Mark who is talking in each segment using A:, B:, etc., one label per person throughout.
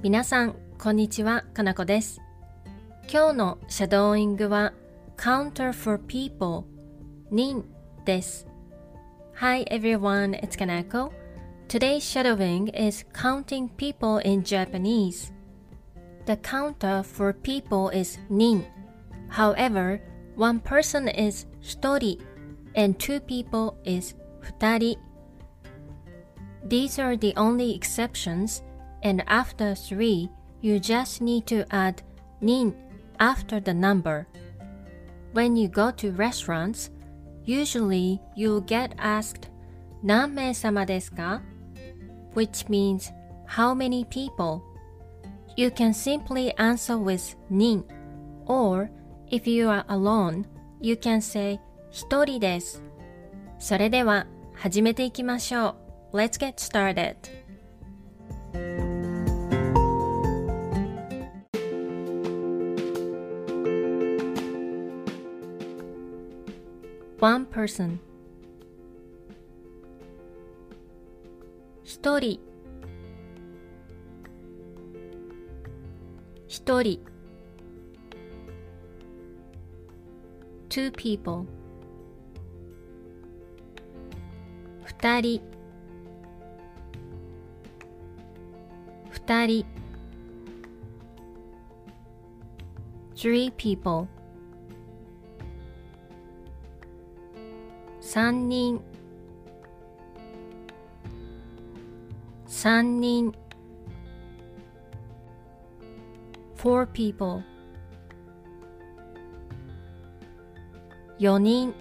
A: 皆さん、こんにちは、かなこです。今日のシャドーイングは Counter for People 人です。Hi everyone, it's Kanako. Today's shadowing is counting people in Japanese. The counter for people is 人. However, one person is 一人 and two people is 二人. These are the only exceptions.And after 3, you just need to add 人 after the number. When you go to restaurants, usually you'll get asked 何名様ですか? Which means how many people. You can simply answer with 人 or if you are alone, you can say 一人です。それでは始めていきましょう。Let's get started.One person 一人一人 two people 二人二人 three people三人三人 four people 四人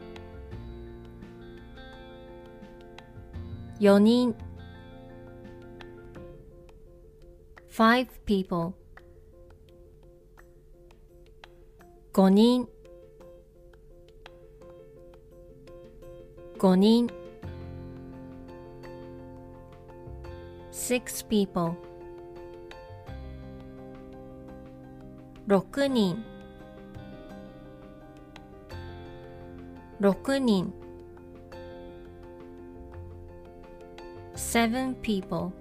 A: 四人 five people 五人五人 six people 六人六人 seven people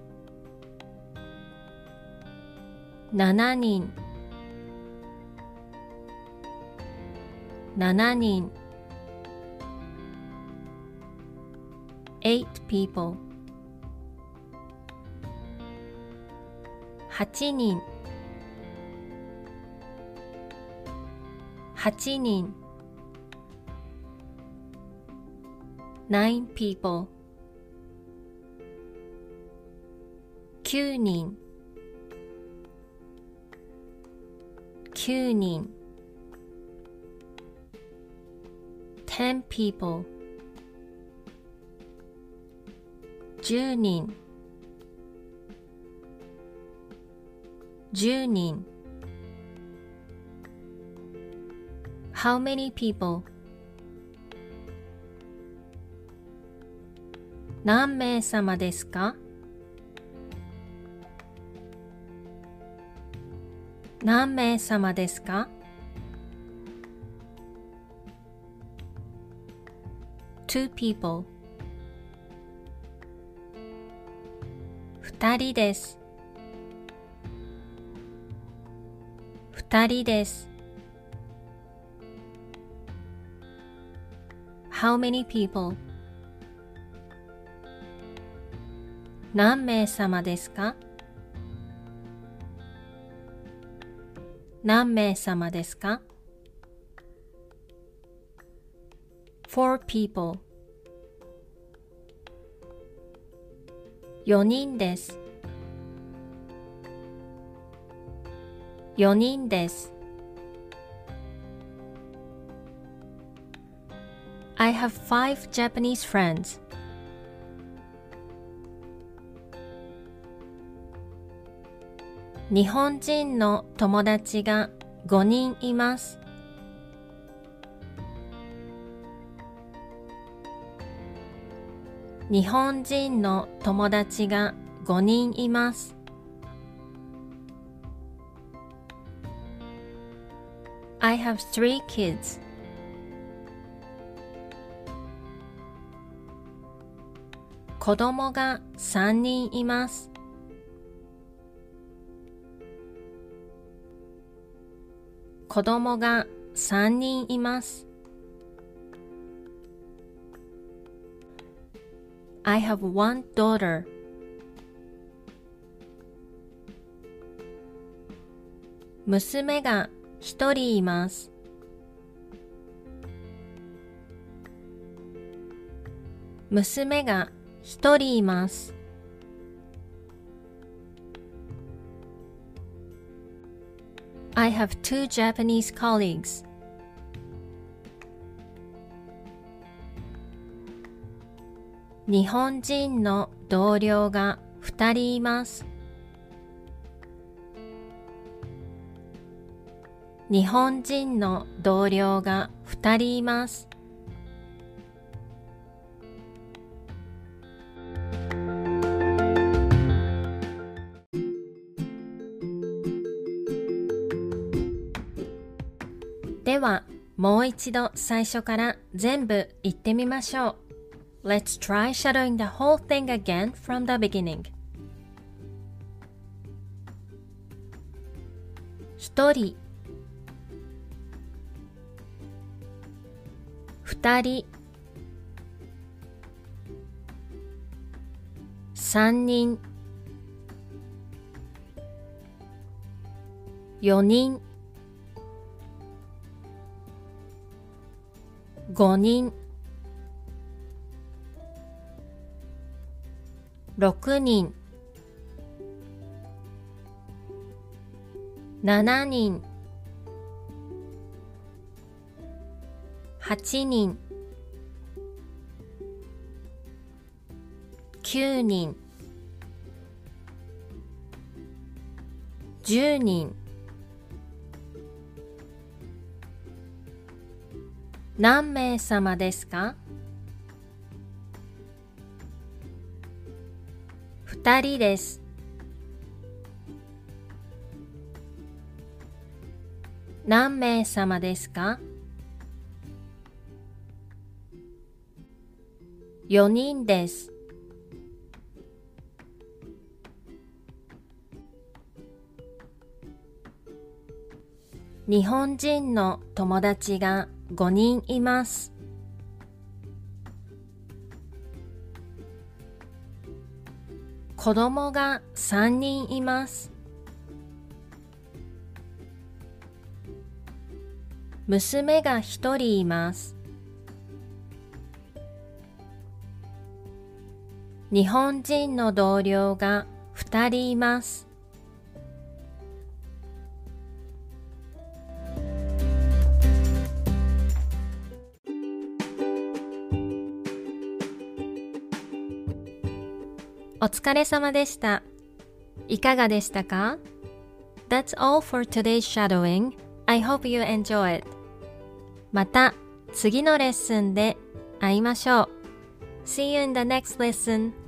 A: 七人七人eight people 八人八人 nine people 九人九人 ten people 十人十人 How many people? 何名様ですか? 何名様ですか? Two people 二人です二人です How many people? 何名様ですか何名様ですか Four people 4人です4人です I have 5 Japanese friends. 日本人の友達が5人います。日本人の友達が5人います。I have 3 kids. 子供が3人います。 子供が3人います。I have one daughter. 娘が1人います。娘が1人います。I have two Japanese colleagues. 日本人の同僚が2人います。日本人の同僚が2人います。では、もう一度最初から全部言ってみましょう。Let's try shadowing the whole thing again from the beginning. 1人、2人、3人、4人、5人、6人、7人、8人、9人、10人。何名様ですか？2人です。何名様ですか？4人です。日本人の友達が5人います。子供が3人います。娘が1人います。日本人の同僚が2人います。お疲れ様でした。いかがでしたか？ That's all for today's shadowing. I hope you enjoy it. また次のレッスンで会いましょう。See you in the next lesson.